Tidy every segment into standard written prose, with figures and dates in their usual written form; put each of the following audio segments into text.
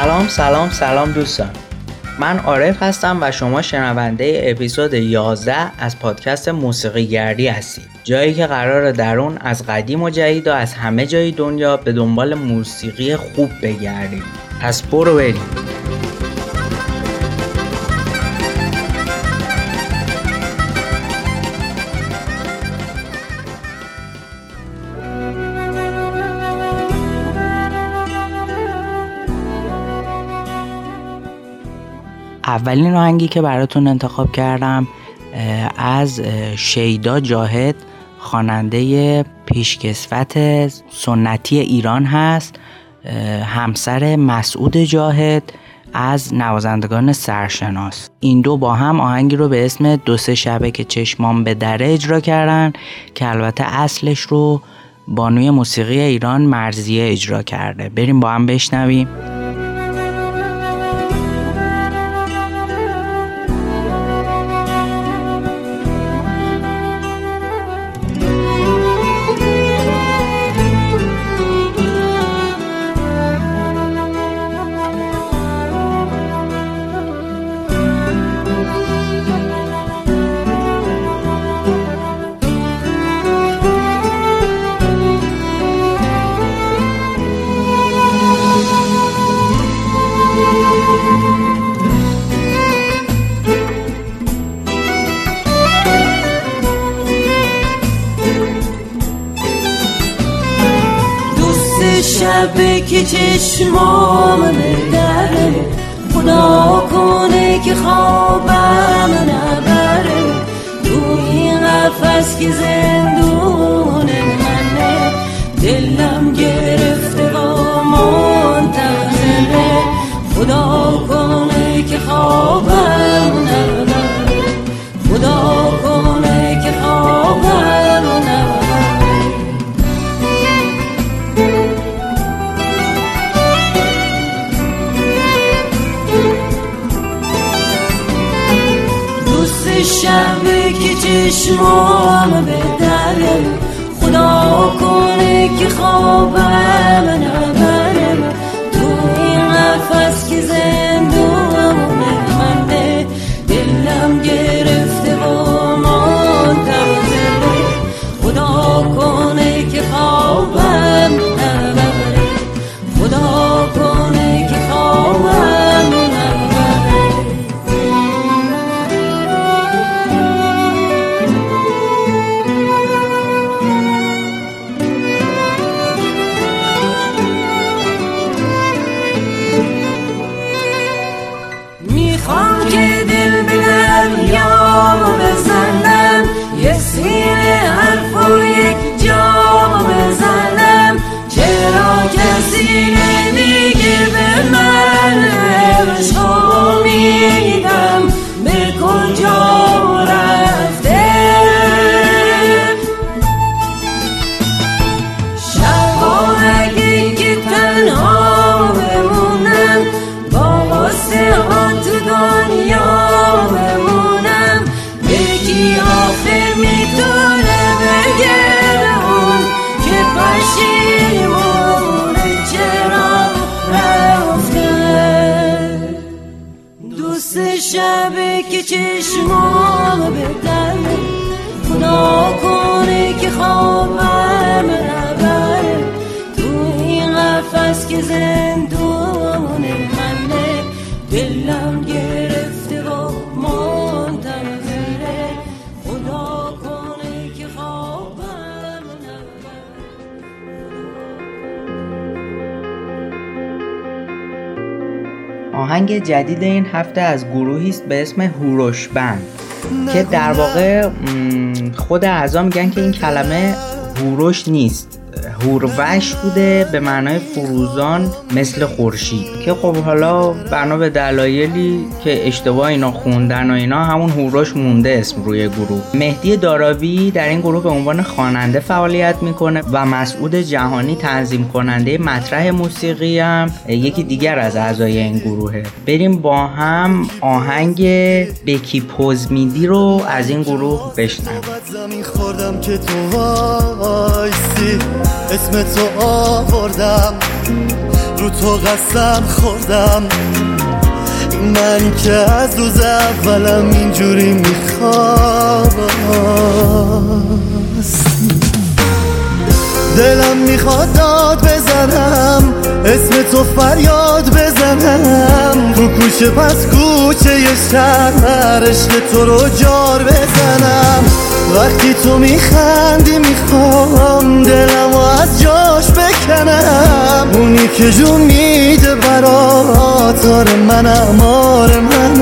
سلام دوستان، من عارف هستم و شما شنونده اپیزود 11 از پادکست موسیقی گردی هستید، جایی که قراره در اون از قدیم و جدید و از همه جای دنیا به دنبال موسیقی خوب بگردیم. پس برو بریم. اولین آهنگی که براتون انتخاب کردم از شیدا جاهد، خواننده پیشکسوت سنتی ایران هست، همسر مسعود جاهد از نوازندگان سرشناس. این دو با هم آهنگی رو به اسم 2-3 شبه که چشمام به دره اجرا کردن که البته اصلش رو بانوی موسیقی ایران مرضیه اجرا کرده. بریم با هم بشنویم. شبه که چشمام به دره، خدا کنه که خوابم نبره. تو این قفس که زندون منه، دلم گرفته و منتظره. خدا کنه که خوابم نبره، خدا کنه که خوابم نبره. شبه که چشمام به دره، خدا کنه که خوابم نبره. تو این قفس که زندون منه، دلم گرفته و منتظره. خدا کنه که خوابم نبره، خدا کنه که خوابم نبره. میخوام که دل به دریا بزنم، یه سینه حرف و یک جا بزنم. چرا کسی نمیگه به من عشق میدم به کجا رفته؟ شبا اگه که تنها بمونم، با غصه ها تو دنیا بمونم. یکی آخه میتونه بگه اون که پشیمونه چرا رفته. دوست شبه که چشمام به دره، خدا کنه که خوابم نبره. تو این قفس که زندون منه، دلم گرفته و منتظره. خدا کنه که خوابم نبره. آهنگ جدید این هفته از گروهی است به اسم هوروش بند که در واقع خود اعضا میگن که این کلمه هوروش نیست، هوروش بوده به معنای فروزان مثل خورشید، که خب حالا بنا به دلایلی که اشتباه اینا خوندن و اینا همون هوروش مونده اسم روی گروه. مهدی داراوی در این گروه به عنوان خواننده فعالیت میکنه و مسعود جهانی تنظیم کننده مطرح موسیقی هم یکی دیگر از اعضای این گروهه. بریم با هم آهنگ بکی پوز میدی رو از این گروه بشنویم. زمین خوردم که تو وایسی، اسم تو آوردم رو تو قسم خوردم، من که از روز اولم اینجوری میخواست. دلم میخواد داد بزنم، اسم تو فریاد بزنم، رو کوچه پس کوچه ی شهر عشق تو رو جار بزنم. وقتی تو میخندی میخوام دلمو از جاش بکنم، اونی که جون میده برات آره منم آره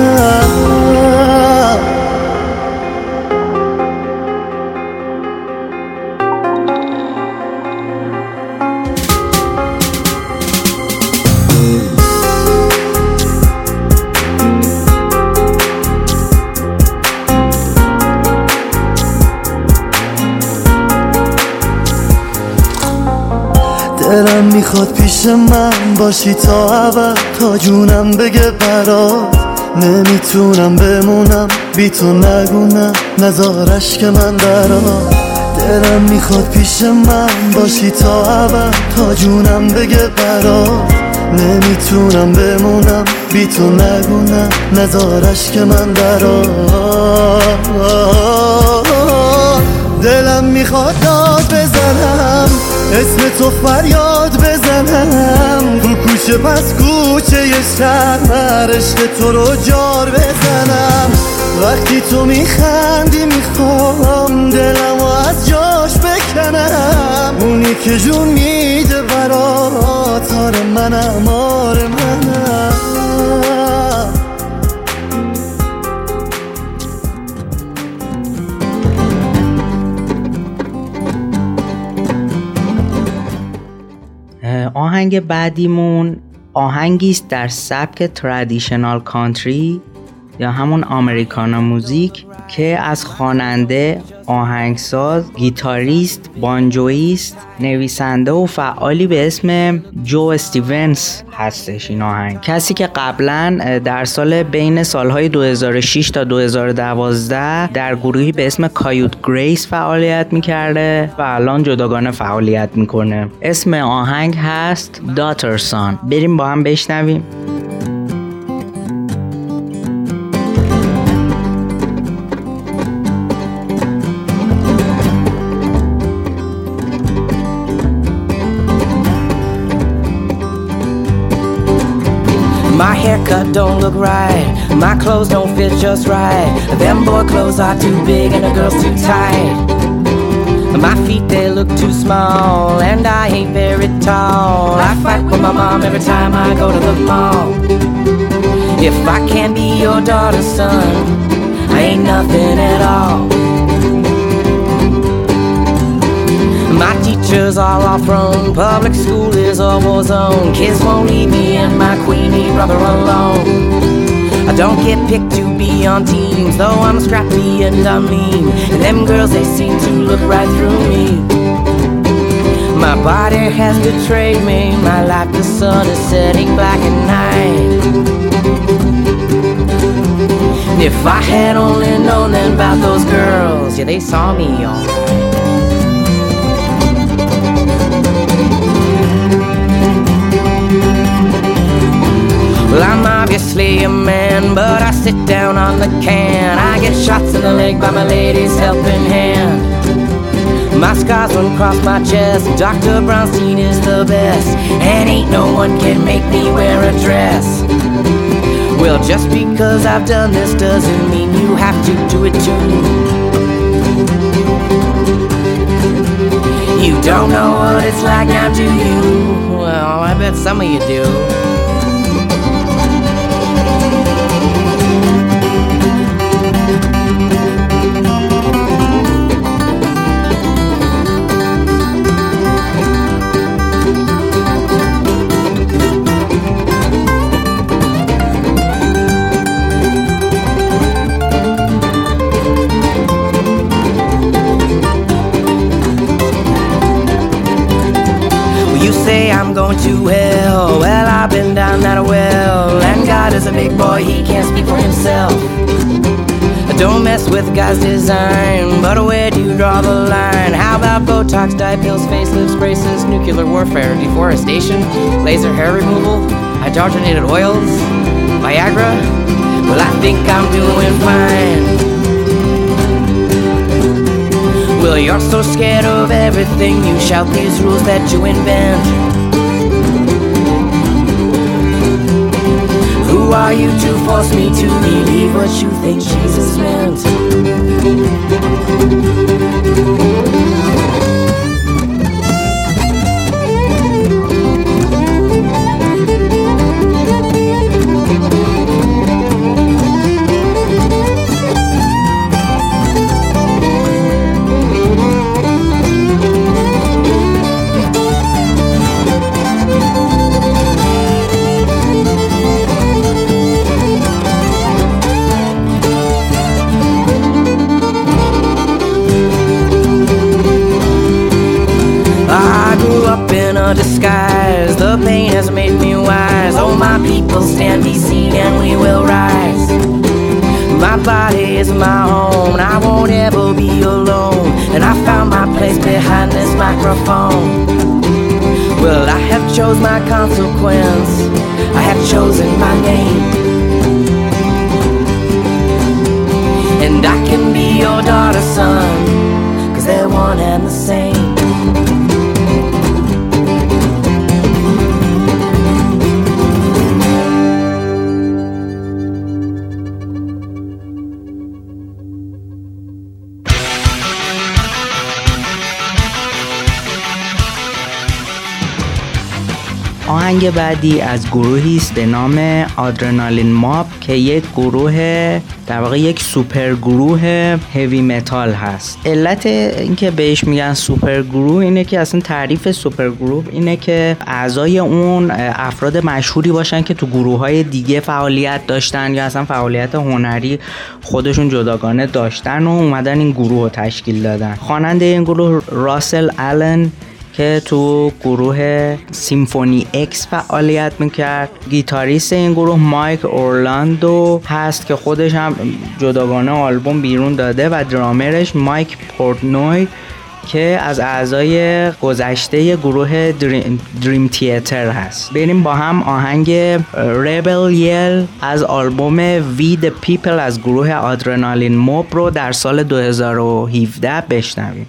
منم. دلم میخواد پیش من باشی تا ابد، تا جونم بگه برات نمیتونم بمونم بی تو، نگونم نزارش که من درات. دلم میخواد پیش من باشی تا ابد، تا جونم بگه برات نمیتونم بمونم بی تو، نگونم نزارش که من درات. دلم میخواد داد بزنم، اسم تو فریاد بزنم، رو کوچه پس کوچه ی شهر عشق تو رو جار بزنم. وقتی تو میخندی میخوام دلمو از جاش بکنم، اونی که جون میده برات آره منم آره منم. آهنگ بعدیمون آهنگیست در سبک ترادیشنال کانتری یا همون امریکانا موزیک که از خواننده، آهنگساز، گیتاریست، بانجویست، نویسنده و فعالی به اسم جو استیونز هستش. این آهنگ کسی که قبلا در سال بین سالهای 2006 تا 2012 در گروهی به اسم کایوت گریس فعالیت میکرده و الان جداگانه فعالیت میکنه. اسم آهنگ هست داترسان. بریم با هم بشنویم. My haircut don't look right, my clothes don't fit just right. Them boy clothes are too big and the girls too tight. My feet they look too small and I ain't very tall. I fight with my mom every time I go to the mall. If I can't be your daughter's son, I ain't nothing at all. My teachers are all thrown, public school is a war zone. Kids won't leave me and my queenie brother alone. I don't get picked to be on teams, though I'm scrappy and I'm mean. And them girls, they seem to look right through me. My body has betrayed me, my life the sun is setting black at night. And if I had only known then about those girls, yeah, they saw me alright. Well, I'm obviously a man, but I sit down on the can. I get shots in the leg by my lady's helping hand. My scars run across my chest, Dr. Brownstein is the best, and ain't no one can make me wear a dress. Well, just because I've done this doesn't mean you have to do it too. You don't know what it's like now, do you? Well, I bet some of you do. I'm going to hell. Well, I've been down that well, and God is a big boy, he can't speak for himself. Don't mess with God's design, but where do you draw the line? How about Botox, dye pills, facelifts, braces, nuclear warfare, deforestation, laser hair removal, hydrogenated oils, Viagra? Well, I think I'm doing fine. Well, you're so scared of everything, you shout these rules that you invent. Who are you to force me to believe what you think Jesus meant? Disguise, the pain has made me wise. Oh, my people, stand, be seen, and we will rise. My body is my home, and I won't ever be alone. And I found my place behind this microphone. Well, I have chose my consequence, I have chosen my name. And I can be your daughter, son, 'cause they're one and the same. آهنگ بعدی از گروهی است به نام آدرنالین ماب که یک گروه در واقع یک سوپر گروه هیوی متال هست. علت اینکه بهش میگن سوپر گروه اینه که اصلا تعریف سوپر گروه اینه که اعضای اون افراد مشهوری باشن که تو گروه‌های دیگه فعالیت داشتن یا اصلا فعالیت هنری خودشون جداگانه داشتن و اومدن این گروه رو تشکیل دادن. خواننده این گروه راسل آلن که تو گروه سیمفونی اکس فعالیت میکرد. گیتاریست این گروه مایک اورلاندو هست که خودش هم جداگانه آلبوم بیرون داده و درامرش مایک پورتنوی که از اعضای گذشته گروه دریم تیاتر هست. بریم با هم آهنگ ریبل یل از آلبوم وی د پیپل از گروه آدرنالین موب رو در سال 2017 بشنویم.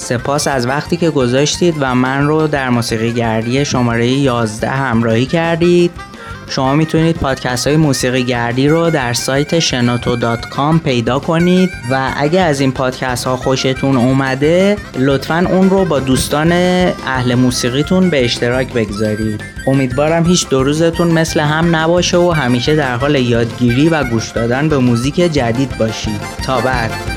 سپاس از وقتی که گذاشتید و من رو در موسیقی گردی شماره 11 همراهی کردید. شما میتونید پادکست های موسیقی گردی رو در سایت shenoto.com پیدا کنید و اگه از این پادکست ها خوشتون اومده لطفاً اون رو با دوستان اهل موسیقیتون به اشتراک بگذارید. امیدوارم هیچ دو روزتون مثل هم نباشه و همیشه در حال یادگیری و گوش دادن به موزیک جدید باشید. تا بعد.